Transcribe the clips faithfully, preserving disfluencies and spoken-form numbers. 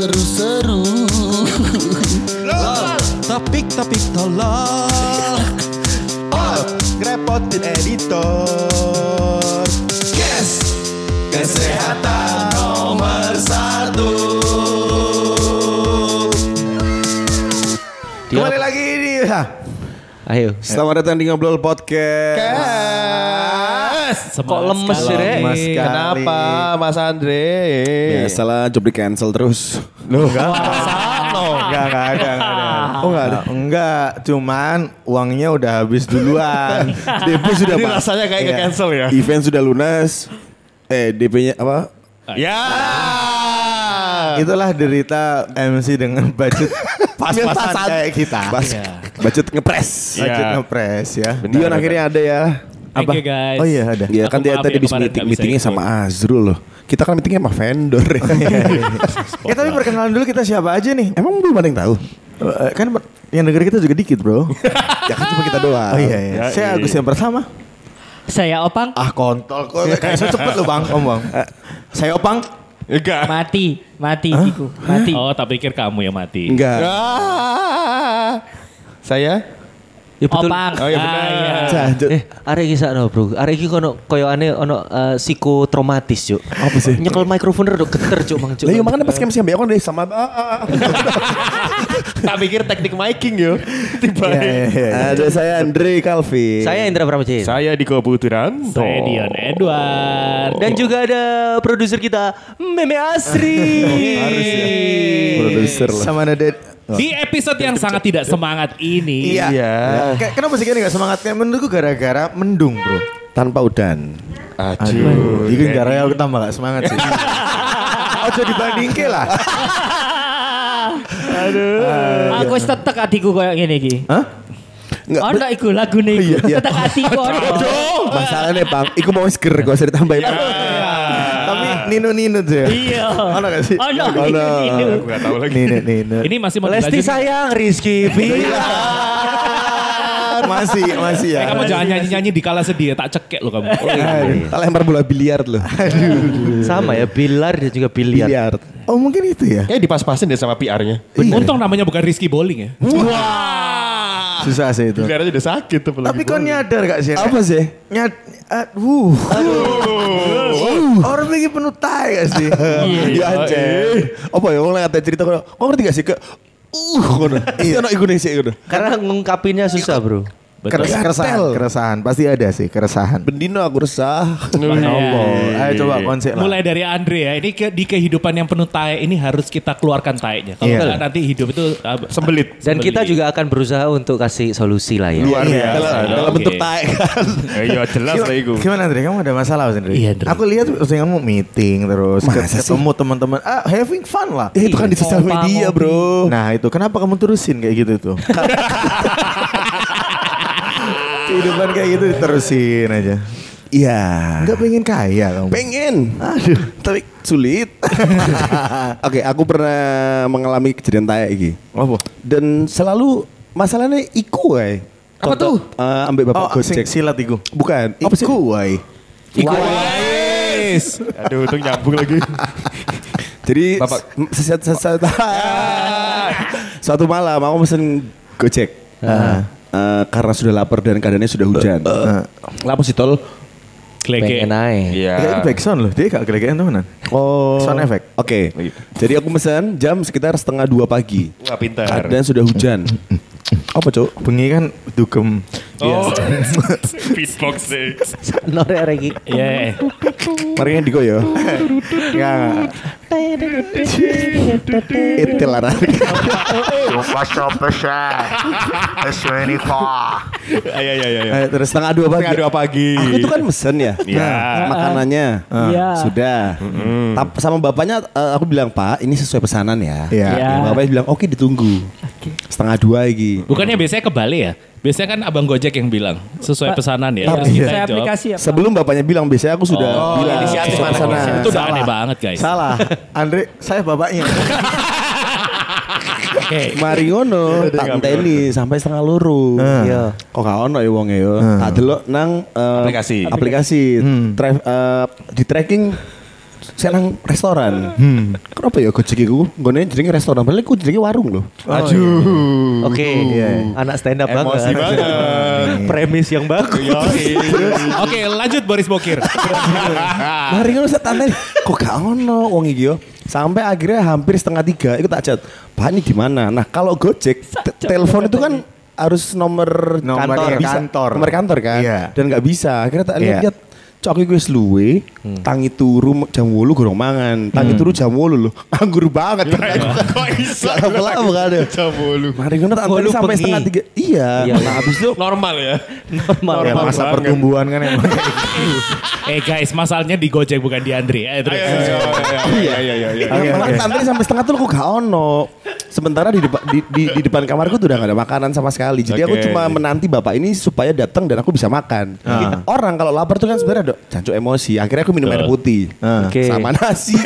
seru-seru. Topik-topik tolol. Oh, ngerepotin editor. Yes, kesehatan nomor satu. Kembali lagi di Ayo, selamat datang di Ngobrol Podcast. kok lemes sih, Rek? Lemes sekali. Kenapa Mas Andre? Biasalah job di cancel terus. Loh, enggak. Enggak, enggak ada, enggak ada. Oh, enggak ada. Enggak, cuman uangnya udah habis duluan. D P sudah Ini pas. rasanya kayak Iya. nge-cancel ya? Event sudah lunas. Eh, D P-nya apa? Ya. Itulah derita M C dengan budget pas-pasan Pas-pasan. kayak kita. Pas. Budget ngepres. Iya. Budget ngepres ya. Benar, Dion benar. akhirnya ada ya. Thank you, guys. Oh iya ada. Iya Aku kan dia maaf tadi ya habis kemarin meeting nggak bisa meetingnya ikut. sama Azrul loh. Kita kan meetingnya sama vendor ya. Ya tapi perkenalan dulu kita siapa aja nih? Emang belum ada yang tahu? Eh, Kan yang denger kita juga dikit bro. Ya kan cuma kita doang. Oh iya iya. Ya, Saya iya. Agus yang pertama. Saya Opang Ah kontol kok kayak so cepet lo bang om bang. Eh, Saya Opang. Enggak. mati, mati Kiku, mati. Oh, tak pikir kamu yang mati. Enggak. Ah. Saya? Ya betul. Opang. Oh iya benar. Ah, iya. Cah, jo- Eh, arek iki sakno, Bro. Arek iki kono koyo ane ono eh, psikotraumatis, Cuk. Apa sih? Nyekel mikrofon rada geter, Cuk, Mang, Cuk. Lah iya makanya pas kami siapa kan deh sama ah, ah, ah. Tak pikir teknik miking yo. Tiba. Iya, iya, iya. Ada saya Andre Calvin. Saya Indra Pramajaya. Saya Diko Puturan. Saya Dion Edward. Dan juga ada produser kita, Meme Asri. Harus ya. Produser lah. Sama ada Ded. Di episode yang sangat tidak semangat ini. Iya. Iya. Kayak kenapa sih gini gak semangat? Kayak menurutku gara-gara mendung bro. Tanpa udan. Aduh. Ini gara-gara aku tambah gak semangat sih. Ojo dibandingke lah. Aku wis tetek atiku koyo ngene iki. Hah? Enggak. Ono iku lagune Iya, iku. iya. Tetek atiku ono. Masalahnya bang, iku mau seger gak usah ditambahin. Tapi Nino-Nino tuh ya. Iya. Ono gak sih? Ono, Ono. Nino-Nino. Aku enggak tahu lagi. Nino-Nino. Ini masih mau Lesti dilanjut. sayang, Rizky bilang. Masih, masih ya. Eh, kamu jangan nyanyi-nyanyi di kala sedih ya, tak cekek lo kamu. Aduh. Tak lempar bola biliar loh. Sama ya, bilar dan juga biliar. Biliar. Oh mungkin itu ya. Eh dipas-pasin deh sama P R-nya. Untung namanya bukan Rizky Bowling ya. Susah sih itu. P R-nya udah sakit tuh. Tapi kau nyadar gak sih? Apa sih? Nyad, aduh. Aduh. Orang begini penuh tai gak sih? Iya anjir. Apa ya? Orang ngata cerita kau. Kau ngerti gak sih ke? Uh, kono. Iya. Ono Indonesia kono. Karena ngungkapinnya susah, Bro. Keres, keresahan, keresahan. Pasti ada sih keresahan. Bendino aku resah. Allah. Ayo coba konsep lah. Mulai dari Andre ya, ini ke, di kehidupan yang penuh tae ini harus kita keluarkan taenya. Kalau Iya. enggak nanti hidup itu uh, Sembelit. Dan kita juga akan berusaha untuk kasih solusi lah ya. Luar Iya, biasa. dalam, dalam Oke. bentuk tai kan. Eh, Iya jelas lah itu. Gimana Andre? Kamu ada masalah Mas Andre? Iya, Andre. Aku lihat terus kamu meeting terus Masa sih? ketemu teman-teman. Ah, having fun lah. Eh, itu kan di sosial Ngopa, media ngopi. bro. Nah itu kenapa kamu terusin kayak gitu tuh? Kehidupan kayak gitu diterusin aja. Iya. Enggak pengen kaya kamu. Pengen. Aduh. Tapi sulit. Oke, aku pernah mengalami kejadian kayak iki. Apa? Dan selalu masalahnya iku wae. Apa Contoh, tuh? eh, ambil bapak Oh, Gojek. sing silat iku. Bukan. Apa sih? Iku wae. Iku wais. Aduh, itu nyambung lagi. Jadi Bapak. sesat sesat. Suatu malam aku pesen Gojek. Eh, karena sudah lapar dan keadaannya sudah hujan. Lapor si tol. Klege. Pengen aja. Iya. Ya, itu backsound loh. Dia gak gelegean temenan. Oh. Sound effect. Oke. Jadi aku pesan jam sekitar setengah dua pagi. Wah pintar. Keadaan sudah hujan. Apa cok? Bengi kan dugem. Oh, beatbox deh. Norek lagi. Iya. Mari yang diko ya. Enggak. Itu lah. Ayo ayo ayo. Eh, terus setengah dua pagi. Setengah dua pagi. Aku tuh kan mesen ya. Iya. Makanannya. Iya. Sudah. Tap- sama bapaknya eh, aku bilang, "Pak, ini sesuai pesanan ya." Iya. Iya. Bapaknya bilang, "Oke, ditunggu." Setengah dua lagi. Bukannya biasanya kebalik ya? Biasanya kan abang Gojek yang bilang sesuai pesanan ya. Tapi- Kita Saya yang jawab. aplikasi ya. Pak? Sebelum bapaknya bilang, biasanya aku sudah Oh, bilang inisiatif sesuai anak pesanan. inisiatif. Itu udah Salah. aneh banget guys. Salah. Andre, saya bapaknya. Oke. Mari ngono, tak enteni sampai setengah loro. Iya. Kok gak ono ya wonge yo. Tak delok nang eh, Aplikasi. Aplikasi. Tra- eh, di tracking saya nang restoran. Hmm. Kenapa ya Gojek iku nggone jenenge restoran, padahal iku jenenge warung loh. Aduh. Oke, anak stand up Emosi banget. banget. Premis yang bagus. Oke, lanjut Boris Bokir. Mari ngono sak tante. Kok gak ono wong iki yo. Sampai akhirnya hampir setengah tiga itu tak chat. Pak ini di mana? Nah, kalau Gojek te- telepon itu kan harus nomor, Nomor kantor, iya, bisa, kantor. nomor kantor kan, Iya. dan nggak bisa. Akhirnya tak Iya. lihat, cok aku wis luwe, tangi turu jam wolu gorong mangan, tangi turu jam wolu loh, anggur banget. Kok iso? Gak apa-apa gak ada. Jam bolu. Mari ngono tak Wolu antri sampai bengi. setengah tiga. Iya. Iya, Nah habis itu Normal ya. Normal. Ya, Normal masa banget. pertumbuhan kan emang. Eh guys, masalahnya di Gojek bukan di Andre. Eh, terus. Iya iya iya iya. Oke, malah oke. antri sampai setengah tuh kok gak ono. Sementara di depan di, di, di depan kamarku tuh udah gak ada makanan sama sekali. Jadi aku Oke. cuma menanti bapak ini supaya datang dan aku bisa makan. Orang kalau lapar tuh kan sebenarnya ada jancuk emosi. Akhirnya aku minum air putih Oke. sama nasi.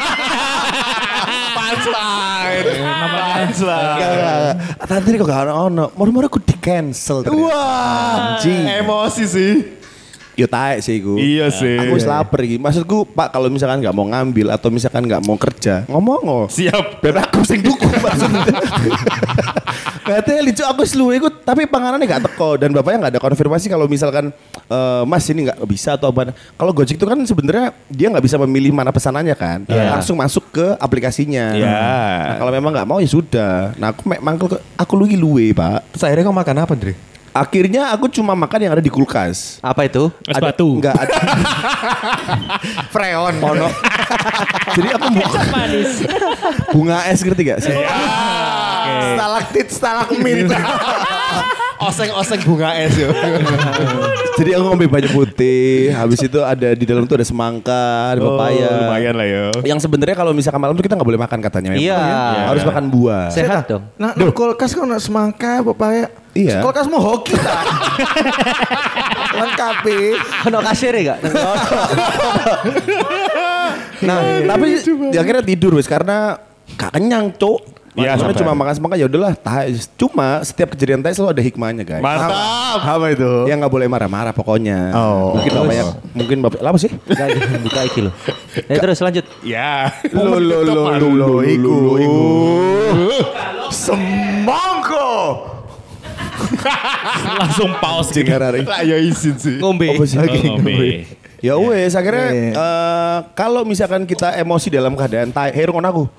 Punchline. Gak, tadi kok gak ono. Moro-moro aku di cancel. Wah. Anjing. Emosi sih. Yo taek sih iku. Iya sih. Aku wis lapar iki. Maksudku Pak kalau misalkan nggak mau ngambil atau misalkan nggak mau kerja, ngomong oh. Siap. Ben aku sing tuku maksudnya. Katanya lucu aku seluwe iku tapi panganannya gak teko dan bapaknya nggak ada konfirmasi kalau misalkan eh, Mas ini nggak bisa atau apa. Kalau Gojek itu kan sebenarnya dia nggak bisa memilih mana pesanannya kan. Iya. Langsung masuk ke aplikasinya. Iya. Nah, kalau memang nggak mau ya sudah. Nah aku mek mangkel ke aku luwi luwe Pak. Terus akhirnya kau makan apa, Dre? Akhirnya aku cuma makan yang ada di kulkas. Apa itu? Es Ada- batu. Enggak ada. Freon. Ono. Jadi aku bu- Manis. bunga es ngerti gak sih? Stalaktit, stalagmit. Oseng-oseng bunga es yo. Jadi aku ngombe banyak putih. Habis itu ada di dalam tuh ada semangka, ada pepaya. Oh, lumayan lah yo. Yang sebenarnya kalau misalkan malam tuh kita nggak boleh makan katanya. memang. Iya. Ya, harus makan buah. Sehat dong. Nah, di kulkas kau nak semangka, pepaya. Iya. Kulkas mau hoki tak? Lengkap. Ono kasir ya gak? Nah, tapi di akhirnya tidur wes karena gak kenyang, Cuk. Iya, Karena sampai. cuma makan semangka ya udahlah. tahe. Cuma setiap kejadian teh selalu ada hikmahnya, guys. Mantap. Apa itu? Yang nggak boleh marah-marah pokoknya. Oh. Mungkin bapaknya, mungkin bapak, apa sih? Gak buka iki loh. Eh terus lanjut. Ya. Lo lo lo lo lo iku iku. Semangka. Langsung pause gitu. Lah ya izin sih. Ngombe. Apa sih? Oh, ngombe. Ya wes akhirnya Iya. eh, kalau misalkan kita emosi dalam keadaan tai, hei rungokno aku.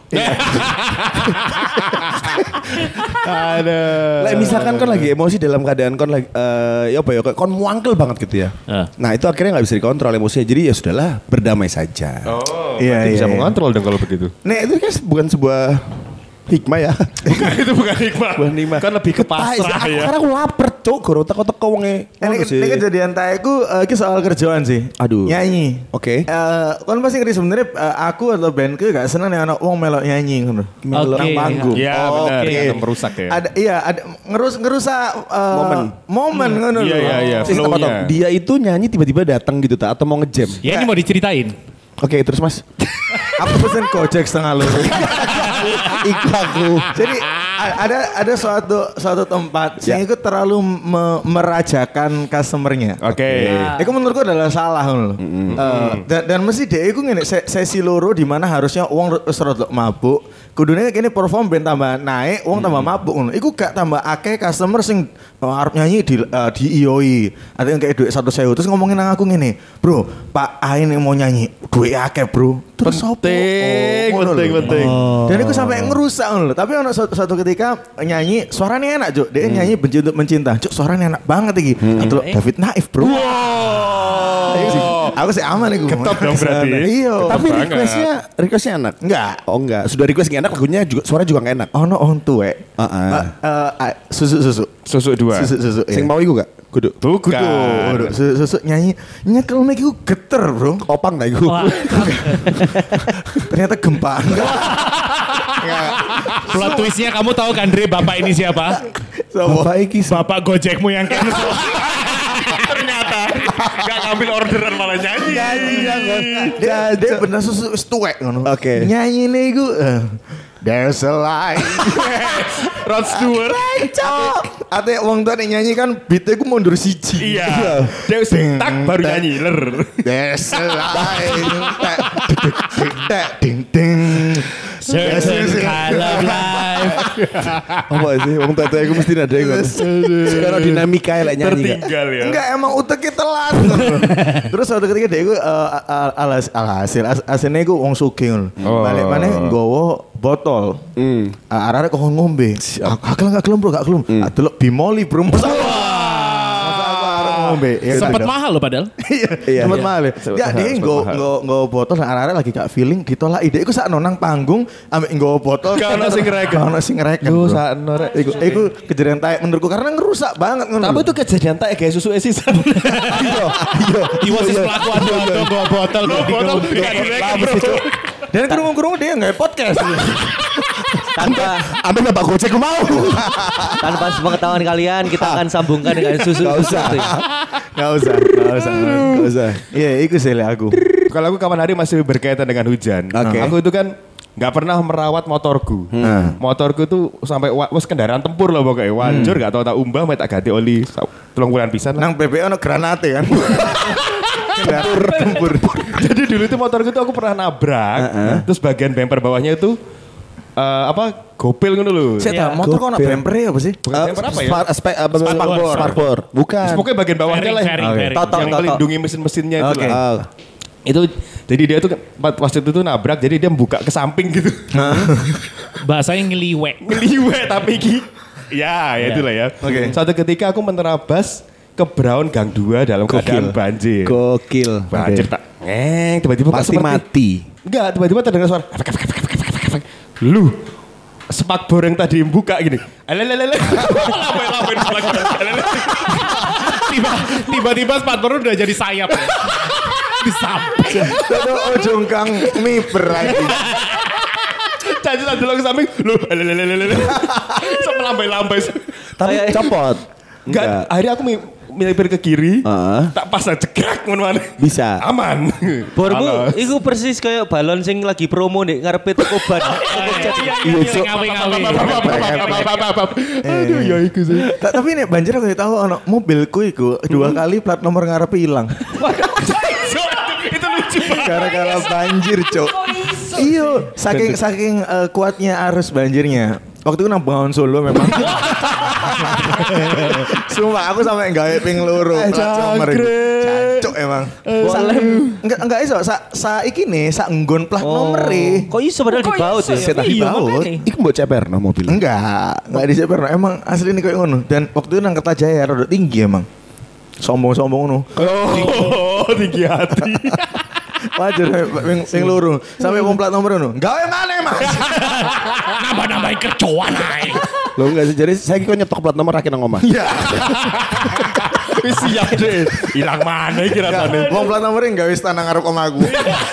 Ada. Lah misalkan kon lagi emosi dalam keadaan kon lagi eh, ya apa ya kayak kon muangkel banget gitu ya. Ah. Nah, itu akhirnya nggak bisa dikontrol emosinya. Jadi ya sudahlah, berdamai saja. Oh, Iya, berarti bisa iya, iya. mengontrol dong kalau begitu. Nah, itu kan bukan sebuah hikmah ya. Bukan itu bukan hikmah. Bukan hikmah. Kan lebih ke Tai, pasrah aku- ya. Karena aku lapar, Cuk. Goro teko-teko wonge. Ini, Ngono sih. ini kejadian taeku uh, ini soal kerjaan sih. Aduh. Nyanyi. Oke. Eh, kan pasti ngerti sebenarnya eh, aku atau bandku gak seneng nih anak wong melok nyanyi ngono. Oke. Nang panggung. Iya Oh, benar. oke. Kan merusak ya. Ada iya ada ngerus ngerusak eh, Momen. momen ngono Iya, lho. iya, iya. Sistem apa flow-nya. toh? Dia itu nyanyi tiba-tiba datang gitu tak atau mau ngejam. Ya ini mau diceritain. Oke, terus Mas. Aku pesen Gojek setengah loro. Iku aku. Jadi a- ada ada suatu suatu tempat yang itu terlalu me- merajakan customernya. Oke. Itu menurutku adalah salah ngono lho. Eh, dan, dan mesti dia itu ngene se- sesi loro di mana harusnya uang wis rada mabuk, kudune kene perform ben tambah naik, uang tambah mabuk ngono. Iku gak tambah akeh customer sing oh, arep nyanyi di uh, di ioi. Ada yang kayak duit satu sewu terus ngomongin nang aku ngene, "Bro, Pak Ain yang mau nyanyi, duit akeh, Bro." Terus apa? Penting, Oh, ngono penting, lho. penting. Dan itu sampai ngerusak ngono lho. Tapi ono suatu, suatu ketika nyanyi suaranya enak, Juk. Dia nyanyi benci untuk mencinta. Juk, suaranya enak banget iki. Atau David Naif, Bro. Ayo sih. Aku sih aman iku. Ketat dong berarti. Iya. Tapi banget. requestnya requestnya enak. Enggak. Oh enggak. Sudah request nggak enak lagunya juga suara juga nggak enak. Ono on tuwek. Heeh. Eh, eh, susu-susu. Susuk dua. Susu-susu. Sing iya. mau iku gak? Kudu. Bukan. Kudu, kudu. Susu-susu nyanyi. Nyekel mic iku geter, Bro. Opang dah iku. Wah, Ternyata gempa. plot twistnya kamu tahu kan Dre bapak ini siapa? Bapak iki Bapak Gojekmu yang cancel. Ternyata gak ngambil orderan malah nyanyi. Dia, dia bener susu wis tuwek ngono. Oke. Nyanyi nih iku. eh, There's a light. Rod Stewart. Ate wong tuh nek nyanyi kan beatnya ku mundur siji. Iya. Dia tak baru nyanyi ler. There's a light. Tek ding ding. Certain kind of life. Apa sih? Wong tete aku mesti ada iku. Sekarang dinamika lek nyanyi. Tertinggal ya. Enggak emang uteknya telat. Terus suatu ketika dia iku alas alhasil asline iku wong sugih ngono. Balik maneh nggowo botol. Hmm. Arek kok ngombe. Aku gak gelem bro, gak gelem. Delok bimoli bro. Masa aku arek ngombe. Sempet mahal loh padahal. Iya, sempet mahal. Ya dia nggo nggo nggo botol arek lagi gak feeling ditolak ide iku sakno nang panggung ambek nggo botol. Gak ono sing ngereken. Gak ono sing ngereken. Yo sakno rek. Iku iku kejadian taek menurutku karena ngerusak banget ngono. Tapi itu kejadian tak kayak susu esisan. Iya, iya. Iwa sih pelaku ado-ado bawa botol. Bawa botol. Dan kerungu-kerungu dia nggak podcast. Tanpa Ambil bapak gojek mau. tanpa sepengetahuan kalian kita akan sambungkan dengan susu. Gak usah. Gak usah. Gak usah. Gak usah. Iya, itu sih aku. Kalau aku kapan hari masih berkaitan dengan hujan. Oke. Aku itu kan nggak pernah merawat motorku. Hmm. Motorku tuh sampai wa- wes kendaraan tempur loh pokoknya. Wancur nggak tahu tak umbah, mau tak ganti oli tolong bulan pisan. lah. Nang B B ono granate kan. Tempur, tempur. Jadi dulu itu motorku tuh aku pernah nabrak. Terus bagian bumper bawahnya itu eh, apa gopil ngono lho. Saya motor kok ono bumper ya apa sih? Bukan bumper apa ya? Aspek apa? Sparkboard. Sparkboard. Bukan. Terus pokoknya bagian bawahnya Fairing, lah fairing, Oke. fairing. Toto, yang toto. melindungi mesin-mesinnya itu Oke. lah. Ah. Itu jadi dia tuh pas itu tuh nabrak jadi dia buka ke samping gitu. Bahasanya ngeliwek. Ngeliwek tapi ki. Ya, ya itulah ya. Oke. Suatu ketika aku menerabas ke Brown Gang dua dalam keadaan banjir. Gokil. Banjir tak ngeng tiba-tiba kok Pasti seperti- mati. Enggak, tiba-tiba terdengar suara efek, efek, efek, efek, efek, efek. Lu spakbor yang tadi buka gini. Alelelele. Lambai-lambai spakbor. Alelele. Tiba, tiba-tiba spatbor udah jadi sayap. Di samping. Itu ujung kang miber lagi. Caci tak dulu ke samping. Lu alelelele. Sampai lambai-lambai. Tapi Kayak- copot. Enggak, akhirnya aku mi- milipir ke kiri. Heeh. Tak pas cekrek ngono mana. Bisa. Aman. Bormu Alas. iku persis kayak balon sing lagi promo nih ngarepe toko ban. Iya, iya, ngawe-ngawe. Aduh ya iku sih. Ta- Tapi nih banjir aku tahu ono mobilku iku dua kali plat nomor ngarepe hilang. Itu lucu banget. Gara-gara banjir, Cok. Iya, saking saking eh, kuatnya arus banjirnya. Waktu itu nang Bengawan Solo memang. Sumpah aku sampai gawe ping loro plat nomor itu. Jancuk emang. Sa- Enggak enggak iso sa, sa iki nih sak nggon plat nomor e. Kok iso padahal di baut ya? Saya tak Iya, dibaut. makanya. Iku mbok ceper no mobil. Enggak, enggak di Seperno. Emang asli nih kayak ngono. Dan waktu itu nang Kertajaya rada tinggi emang. Sombong-sombong ngono. Oh, tinggi hati. Wajar ping ping loro. Sampai wong plat nomor ngono. Gawe maneh, Mas. Nambah-nambahin kercoan ae. Lo enggak sih jadi saya kok nyetok plat nomor rakyat nang omah. Iya. Wis siap deh. Hilang mana iki rasane. Wong plat nomor enggak wis tanang ngarep omahku.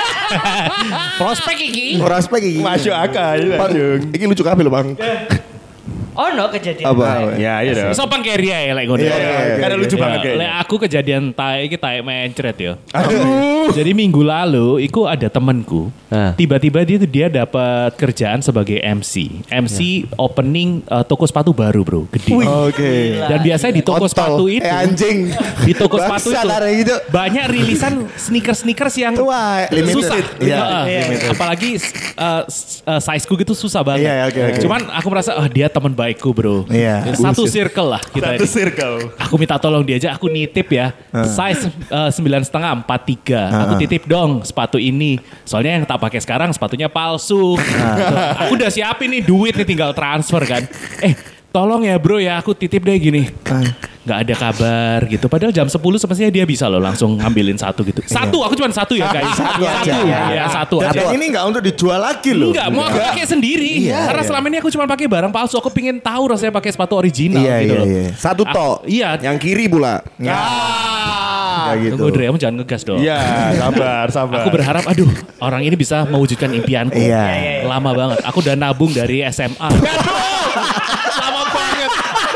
Prospek iki. Ora spek iki. Masuk akal. Bang, iki lucu kabeh lho, Bang. Oh no kejadian. Apa? Ya, iya dong. Sopan carry ae lek ngono. Iya, iya, iya. Karena lucu Ya, banget lek kayaknya. aku kejadian tae iki tae mencret ya. Jadi minggu lalu iku ada temenku. Ah. Tiba-tiba dia tuh dia dapat kerjaan sebagai M C. M C opening uh, toko sepatu baru, Bro. Gede. Oke. Dan biasanya di toko Kontol. sepatu itu Eh anjing. di toko sepatu Bangsat, itu ada gitu. banyak rilisan sneakers-sneakers yang Tua, limited. susah. Iya, Heeh. limited. Apalagi uh, s- uh, sizeku gitu susah banget. Iya, oke, oke. Cuman aku merasa ah dia teman baikku, Bro. Iya. Satu circle lah kita Satu ini. circle. Aku minta tolong dia aja, aku nitip ya. Size uh, sembilan setengah empat tiga. Aku titip dong sepatu ini. Soalnya yang tak pakai sekarang sepatunya palsu. Aku udah siapin nih duit nih tinggal transfer kan. Eh tolong ya bro ya aku titip deh gini. Nggak ada kabar gitu. Padahal jam sepuluh semestinya dia bisa loh langsung ngambilin satu gitu. Satu, aku cuma satu ya guys. Satu aja. Ya, satu Dan aja. ini enggak untuk dijual lagi loh. Enggak, mau aku pakai sendiri. Iya, Karena iya. selama ini aku cuma pakai barang palsu. Aku pingin tahu rasanya pakai sepatu original Iya, gitu iya, loh. iya. Satu Ah, tok. iya. Yang kiri pula. Enggak gitu. Tunggu Dre, kamu jangan ngegas dong. Iya, sabar, sabar. Aku berharap, aduh, orang ini bisa mewujudkan impianku. Iya. Lama banget. Aku udah nabung dari S M A. Lama banget.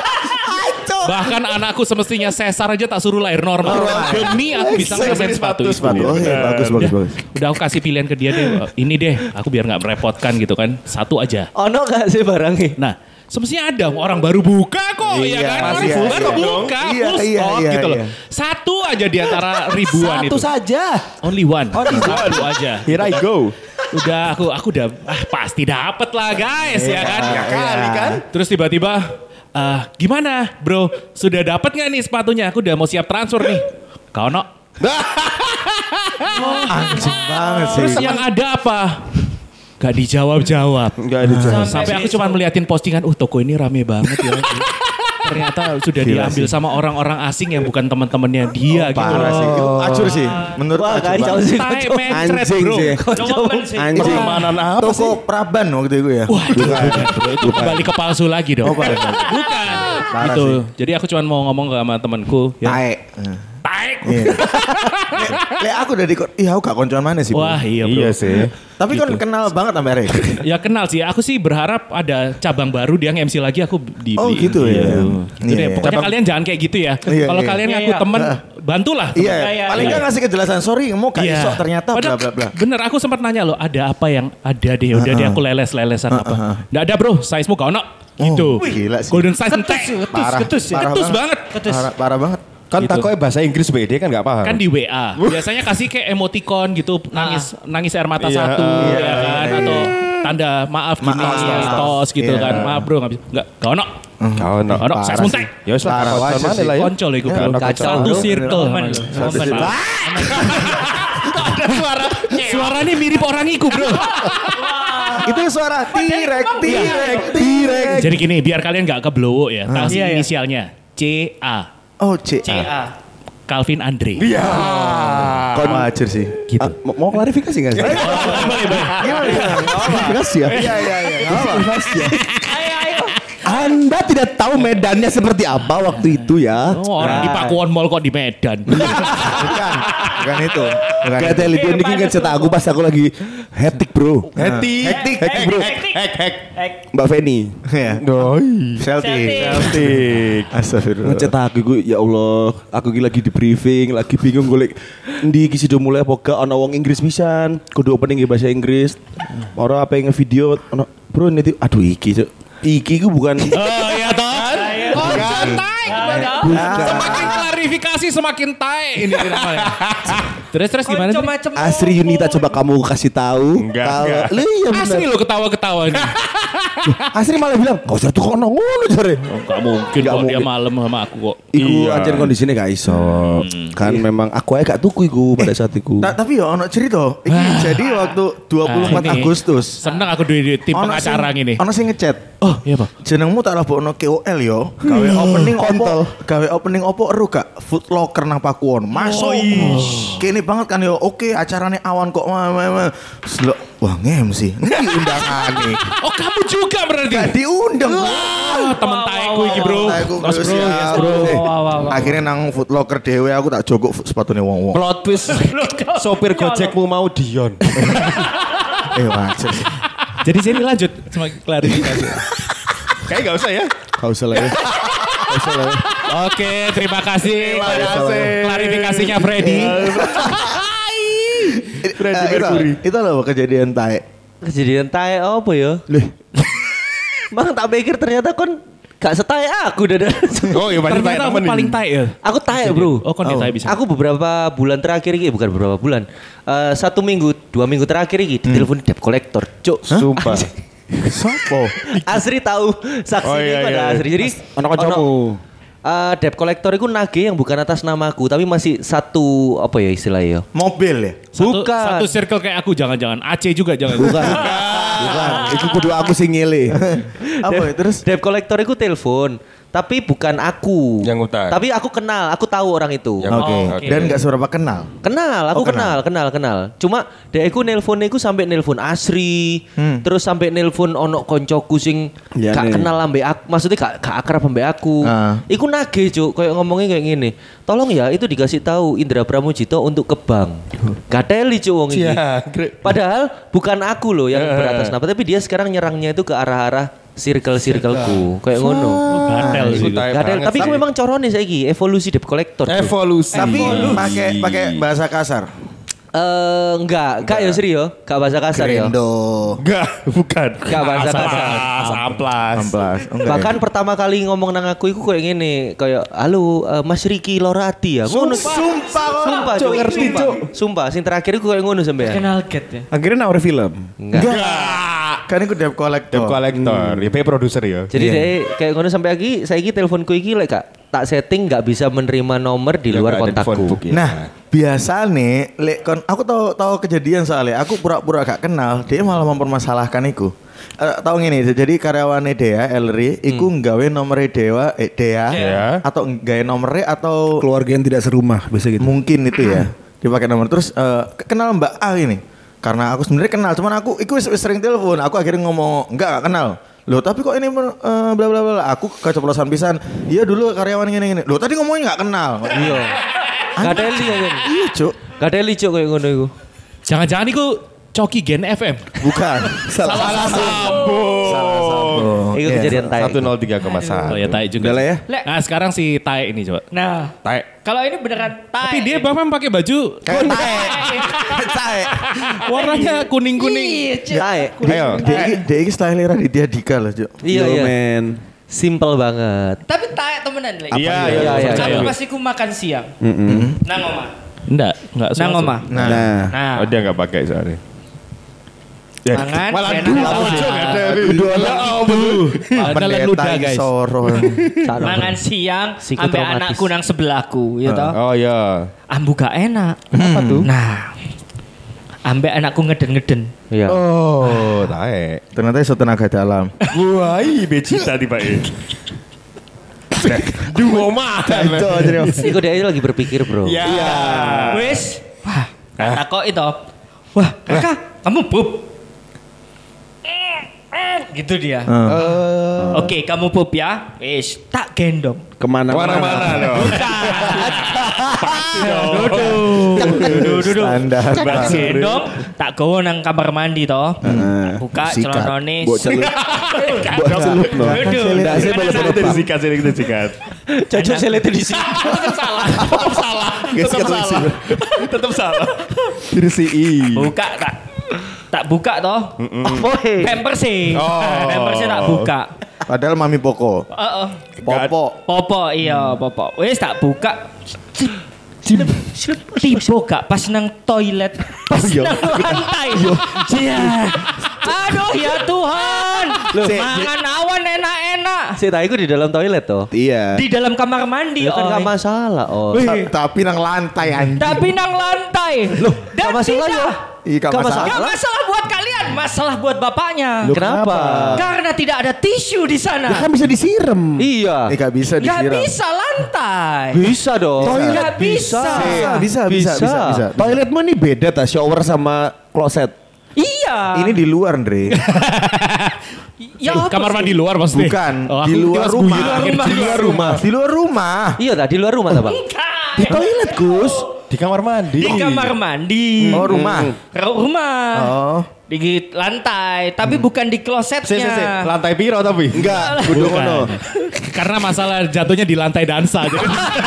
Bahkan anakku semestinya sesar aja tak suruh lahir normal. Demi aku bisa ngerasain sepatu itu. Sepatu. Oh iya, bagus, bagus, bagus. Udah aku kasih pilihan ke dia deh. Ini deh, aku biar nggak merepotkan gitu kan. Satu aja. Ono gak sih barangnya? Nah, semestinya ada orang baru buka kok, Iya, ya kan? pasti Orang ada baru dong. buka, Iya, full iya, stock iya, gitu loh. iya. Satu aja di antara ribuan itu. Satu saja. Only one. Satu aja. Here I go. Udah aku aku udah ah, pasti dapet lah guys ya kan. Ya kali kan. Terus tiba-tiba eh gimana bro? Sudah dapat nggak nih sepatunya? Aku udah mau siap transfer nih. Kau no. Anjing banget sih. Terus yang ada apa? Gak dijawab-jawab. Gak dijawab. Sampai aku cuma meliatin postingan, uh toko ini rame banget ya. Ternyata sudah Gila diambil sih. sama orang-orang asing yang bukan teman-temannya dia gitu Parah loh. sih. Itu acur sih. Menurut Wah, acur kacau banget. sih. Tai mencret Anjing bro. sih. Cowokan sih. Anjing. Pertemanan apa Toko Praban waktu itu ya. Wah itu, bro, itu kembali ke palsu lagi dong. Oh, parah. Bukan. Parah Gitu. sih. Jadi aku cuma mau ngomong sama temanku. Ya. Tae. Taek. Iya. Le aku udah di iya aku gak koncoan mana sih. Bro. Wah iya bro. Iya sih. Tapi kan kenal banget sama Rek. Ya kenal sih. Aku sih berharap ada cabang baru dia nge-M C lagi aku di. Oh gitu ya. Gitu Iya, deh. iya. Pokoknya Cabang- kalian jangan kayak gitu ya. Iya, Kalau iya. kalian Iya, ngaku iya. temen, bantulah. temen. Iya, iya, paling iya. gak ngasih kejelasan. Sorry, mau gak Iya. iso ternyata bla Padahal bla bla. Bener, aku sempat nanya loh, ada apa yang ada deh, udah deh aku leles-lelesan apa. Nggak ada bro, size-mu gak ono. Gitu. Oh, gila sih. Golden size entek. Parah, ketus ya. parah Ketus banget. Parah, parah banget. Kan Gitu. takutnya bahasa Inggris beda kan gak paham. Kan di W A. Biasanya kasih kayak emoticon gitu, nangis nangis air mata Iya, satu, iya, ya kan, iya, atau tanda maaf gini, Maaf, tos, tos. tos gitu Iya. kan. Maaf bro, nggak bisa. Nggak, gak ono. Kau no. Gak ono, Parah size sih. muntek. Ya wis lah, Parah, koncoan wajar mana sih. lah ya. Koncol iku Ya, bro. ono Satu kacau. circle. Momen. Satu Momen. sih. Ada suara. Suaranya mirip orang iku bro. Itu suara tirek, tirek, tirek. Jadi gini, biar kalian gak keblowo ya. Kasih Iya, iya. inisialnya. C A. Oh, C. C A. Calvin Andre. Iya. Kon wajar sih. Gitu. Ah, mau, mau klarifikasi gak sih? Gimana? Klarifikasi ya? Iya, iya, iya. Klarifikasi ya. Ayo, ayo. Anda tidak tahu medannya seperti apa waktu itu ya? Oh, orang di Pakuwon Mall kok di Medan. Bukan, bukan itu. Bukan Kayak tele dia ini kan cetak aku pas aku lagi hektik bro. Hektik. Hektik. Hektik bro. Hektik. Hek hek. Hek. Mbak Feni. Ya. Doi. Celtic. Celtic. Celtic. Astagfirullah. Ngecetak aku gue, ya Allah, aku lagi lagi di briefing, lagi bingung golek ndi iki sudah mulai apa gak ana wong Inggris pisan, kudu opening bahasa Inggris. Ora apa yang ngevideo ono bro ini aduh iki Cuk. Iki ku bukan Oh iya toh. Konco tai gimana? Semakin klarifikasi semakin tai ini namanya. Terus terus gimana Konco sih? macem Asri Yunita, coba kamu kasih tahu. Enggak, Kalau enggak. lu iya bener. Asli lo ketawa-ketawa ini. Asri malah bilang, "Kau tuh kok ono ngono jare." Gak mungkin Gak kok dia mungkin. malam sama aku kok. Iku Iya. anjir kondisinya gak iso. Kan memang aku aja gak tuku iku pada saat iku. Ta- tapi ya ono cerita. Iki jadi waktu dua puluh empat Ah, ini. Agustus. Seneng aku di, di tim Ono pengacara sing- gini. Ono sing ngechat. Oh iya pak. Jenengmu tak labokno K O L yo. Gawe opening opo? kontol. Gawe opening opo eru gak? Food Locker nang Pakuwon. Masuk. Kene banget kan yo. Oke, acarane awan kok. Wah, wah, wah. Slok. Wah, nge-M C. Ini undangane. Oh kamu juga berarti. Gak diundang. Ah, temen taeku iki bro. Aku Mas bro, siap. yes bro. Eh, Wah, wah, wah. Akhirnya nang Food Locker dhewe aku tak jogok sepatune wong-wong. Plot twist. Sopir Gojekmu mau Dion. Eh wajar sih. Jadi sini lanjut semakin klarifikasi. Kayak gak usah ya. Gak usah lah ya. Gak usah lah ya. Oke, terima kasih. Terima kasih. Klarifikasinya Freddy. Freddie Mercury. Itu loh kejadian tae. Kejadian tae apa ya? Lih. Mang tak pikir ternyata kon gak setae aku dadah. Oh iya banyak Ternyata aku paling tae ya. Aku tae bro. Oh, kon di tae bisa. Aku beberapa bulan terakhir ini, bukan beberapa bulan, eh, satu minggu, dua minggu terakhir ini ditelepon debt collector, cuk. Sumpah. Sopo? Asri tahu saksi Oh, ini iya, pada iya. Asri. Jadi Ono kancamu. eh, debt collector itu nagih yang bukan atas namaku, tapi masih satu apa ya istilahnya? Mobil ya? Satu, Bukan. satu circle kayak aku jangan-jangan. Aceh juga jangan. Bukan. Bukan. Itu kudu aku sing ngile. Apa ya? Terus? Debt collector itu telepon, tapi bukan aku. Yang utang. Tapi aku kenal, aku tahu orang itu. Yang- Oke. oke. Dan gak seberapa kenal. Kenal, Oh, aku kenal, kenal, kenal. Cuma dek aku nelpon aku sampai nelpon Asri, Hmm. terus sampai nelpon ono koncoku sing Iya gak nih. kenal ambek aku, maksudnya gak, gak akrab ambek aku. Ah. Iku nagih cuk, kayak ngomongnya kayak gini. Tolong ya itu dikasih tahu Indra Pramujito untuk ke bank. Gateli cuk wong ini. Iya, Grek. Padahal bukan aku loh yang beratas nama, tapi dia sekarang nyerangnya itu ke arah-arah circle-circleku, kayak ngono. Gatel Iku sih. tae Gatel, banget tapi sih. aku memang corone saiki evolusi debt collector. Cuk. Evolusi. Tapi pakai pakai bahasa kasar. Eh enggak, enggak ya serius, enggak bahasa kasar ya. Grendo. Enggak, bukan. Enggak bahasa kasar. Amplas, amplas. Amplas. Enggak Bahkan ya? pertama kali ngomong nang aku iku kayak gini, kayak halo eh, Mas Riki Lorati ya. Ngono. Sumpah kok. Sumpah, Cuk, Cuk, ngerti, sumpah. Cuk. Sumpah, sing terakhir iku kayak ngono sampean. Kenal get ya. Akhirnya nawar film. Enggak. Enggak. Kan aku debt collector. Debt collector, ya pay producer ya. Jadi Iya. deh kayak ngono sampai lagi saiki teleponku iki lek Kak, tak setting nggak bisa menerima nomor di Ya, luar nggak ada kontakku. phone book ya. Nah, biasa nih, lek kon aku tahu tahu kejadian soalnya aku pura-pura gak kenal, dia malah mempermasalahkan iku. Uh, tahu gini, jadi karyawan Dea Elri, iku nggawe nomor Dewa, eh, Dea, Iya. atau nggawe nomornya atau Keluarga yang tidak serumah biasa gitu. mungkin itu ya, dipakai nomor terus uh, kenal Mbak A ini, karena aku sebenarnya kenal, cuman aku, iku wis- wis sering telepon, aku akhirnya ngomong enggak gak kenal. Loh tapi kok ini uh, bla bla bla, aku keceplosan pisan. Iya dulu karyawan gini gini. Loh tadi ngomongnya nggak kenal. Iya. Gak teli ya kan. Iya cuk. Gak teli Cuk kayak ngono iku. Jangan-jangan itu Coki Gen F M. Bukan. Salah Salah sambung. Salah sambung. Iku Iya. kejadian tai. satu nol tiga koma satu. Oh ya Tai juga. Udah lah ya. Lek. Nah sekarang si Tai ini coba. Nah, Tai. kalau ini beneran tai. Tapi dia bahkan pakai baju Kayak tae. Tae. warnanya kuning-kuning. Iya, Cuk. Tai. Ayo. Dia iki dia iki style Raditya Dika loh, Cuk. Iya Yo, iya. men. Simple banget. Tapi tai temenan lek. Iya, Iya, iya, iya, percaya. Aku pasti ku makan siang. Nang omah. Enggak, enggak Nang omah. Nah, Nah, Nah, Oh dia nggak pakai soalnya. Ya. mangan Malah enak dua sama. bocor nggak ada. Kedua Ya ampun. Jalan ludah guys. Soro. Sakno. Mangan siang Psikotraumatis. ambek anakku nang sebelahku, ya toh. Oh iya. Ambu gak enak. Kenapa tuh? Nah, ambek anakku ngeden-ngeden. Iya. Oh, tae. Ternyata iso tenaga dalam. Wah, ini becita di Pak. Dua mah. Cuk, jadi. Iku dia lagi berpikir, Bro. Iya. Wis, wah, takok itu. Wah, kakak, kamu pup. Gitu dia. Oke, kamu pup ya. Wis, tak gendong. kemana-mana. Mana-mana dong. Duduk, duduk. Standar. Tak gendong, tak gowo nang kamar mandi toh. Buka sikat. celanane. Buat celup. Buat celup loh. Duduk. Nggak sih, boleh Itu disikat, itu disikat. Cocok selete di sini. Tetap salah. Tetap salah. Tetap salah. Tetap salah. Dirsiin. Buka tak tak buka toh. Boy. Pampers sih. Oh. Pampers tak buka. Padahal Mami Poko. Heeh. Popo. Popo iya, popo. Wis tak buka. Tiba gak pas nang toilet, pas nang lantai. Iya. Aduh ya Tuhan. Mangan awan enak-enak. Si Tai iku di dalam toilet toh. Iya. Di dalam kamar mandi, Ya kan Oi. gak masalah, oh. Ta- Tapi nang lantai anjing. Tapi nang lantai. Loh, Gak masalah ya. Iya, gak Gak masalah. Gak masalah buat kalian, masalah buat bapaknya. Kenapa? Karena tidak ada tisu di sana. Kan bisa disiram. Iya. Eh, gak bisa Gak disiram. bisa lantai. Bisa dong. Gak bisa. Bisa, bisa, bisa, bisa, bisa. Toilet mah nih beda ta, shower sama kloset. Iya. Ini di luar, Andre. Ya, Eh, apa kamar sih? mandi luar maksudnya. Bukan, Oh, di aku luar kira rumah. sebuyut. Di luar Di luar rumah. Di luar rumah. Iya dah di luar rumah ta, Bang? Di toilet, Gus. Di kamar mandi. Di kamar mandi. Oh, rumah. Ru- Rumah. Oh. Di lantai, tapi bukan di klosetnya. Si, si, si. Lantai piro tapi? Enggak, kudu Bukan. ngono. Karena masalah jatuhnya di lantai dansa. Jadi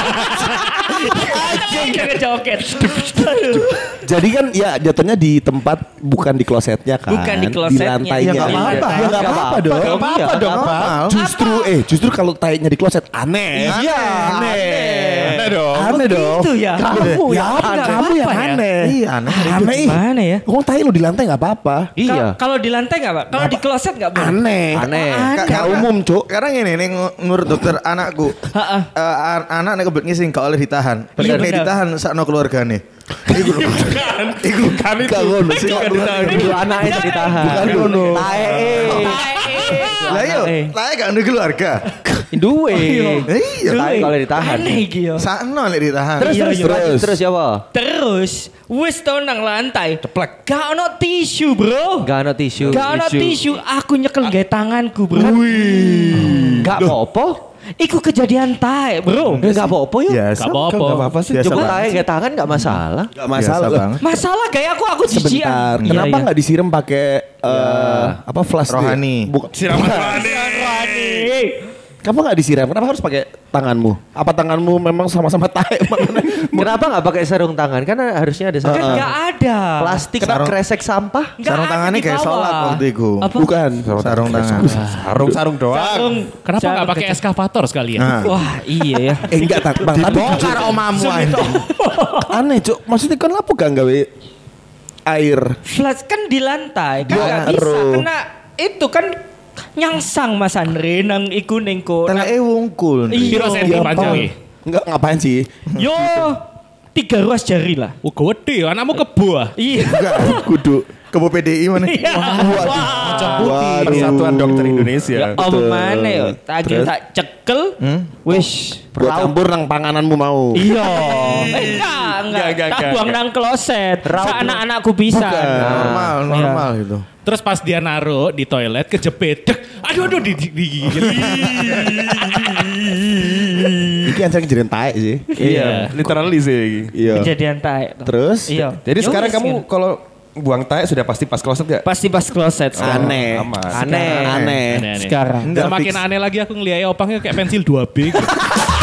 Jangan joget. Jadi kan ya jatuhnya di tempat bukan di klosetnya kan. Bukan di klosetnya. Di lantainya. Ya nggak apa-apa. Ya nggak apa-apa dong. Nggak apa-apa dong, nggak apa? Justru eh justru kalau tainya di kloset aneh. Iya, aneh. Aneh dong. Aneh dong. Gitu ya? Kamu Ya, ya, nggak kamu yang apa-apa ya? aneh. Iya, aneh. Aneh. ih. Gimana ya? Ngomong tai lu di lantai nggak apa-apa. Iya. Ka- Kalau di lantai nggak, Pak? Kalau di kloset nggak boleh. Aneh. Aneh. Ka- Gak umum, Cuk. Sekarang ini nih menurut dokter anakku. Ha-ha. eh, an- anak nek kebelet ngising gak oleh ditahan. Iya, Nek benar. ditahan sakno keluargane. Iku lho. Iku Kan itu. gak ngono sih. Bukan ditahan. Itu anaknya ditahan. Bukan ngono. Tae. Lah yo, lah gak ada keluarga. Duwe. Iya. Tae kalau ditahan. Aneh iki yo. Sakno nek ditahan. Terus Iya, terus iya. terus terus ya, Pak? Terus wis to nang lantai. Ceplek. Gak ono tisu, Bro. Gak ada tisu. Gak ono tisu. Aku nyekel gawe tanganku, Bro. Gak apa-apa. Iku kejadian tae, Bro. Gak apa-apa yuk. Biasa. Gak apa-apa. Gak apa-apa sih. Coba Biasa tae gak tangan gak masalah. Gak masalah. Biasa banget. Masalah kayak aku aku Sebentar. jijian. Kenapa Iya, iya. nggak disiram pakai eh, apa flash dia? Rohani. Bukan. Siraman rohani. Rohani. Kenapa nggak disiram? Kenapa harus pakai tanganmu? Apa tanganmu memang sama-sama taek? Kenapa nggak pakai sarung tangan? Karena harusnya ada sarung Kan tangan. nggak ada. Plastik Sarung- kresek sampah. Nggak Sarung ada tangannya di kayak bawah. sholat waktu itu. Apa? Bukan. Sarung tangan. Sarung-sarung doang. Sarung. Kenapa nggak sarung pakai kecil. eskavator sekalian? Nah. Wah iya ya. Eh enggak, tak, bang. Tapi Dibongkar omamu anjing. aneh, Cuk. Maksudnya kan apa gak gawe air? Flash kan di lantai kan Ya, nggak bisa ero. kena itu kan nyangsang Mas Andre nang iku nengko. Teleke wungkul. Iya. Piro senti Ya, panjang Bang. iki? Enggak, ngapain sih? Yo tiga ruas jari lah. Oh, gede, anakmu kebo ah. Iya. Enggak, kudu. Kebo P D I mana? Iya. Wah. Persatuan Dokter Indonesia. Ya apa mana yo? Tak kira Terus? tak cekel. Wis. Buat campur nang pangananmu mau. Iya. Eh, enggak, enggak. Enggak, Tak enggak, buang enggak. nang kloset. Sa anak-anakku bisa. Normal, normal gitu. Terus pas dia naruh di toilet kejepit. Dek, aduh aduh di di- digigit. Iki yang sering jadiin taek sih. Iya, literally sih. Iya. Kejadian taek. Terus? Iya. Jadi Ya sekarang wis, kamu gitu. kalau buang taek sudah pasti pas kloset gak? pasti pas kloset sekarang. Aneh. Aman. Aneh. Aneh. Aneh-aneh. Sekarang. Enggak Semakin fix. aneh lagi aku ngeliat opangnya kayak pensil dua B. gitu.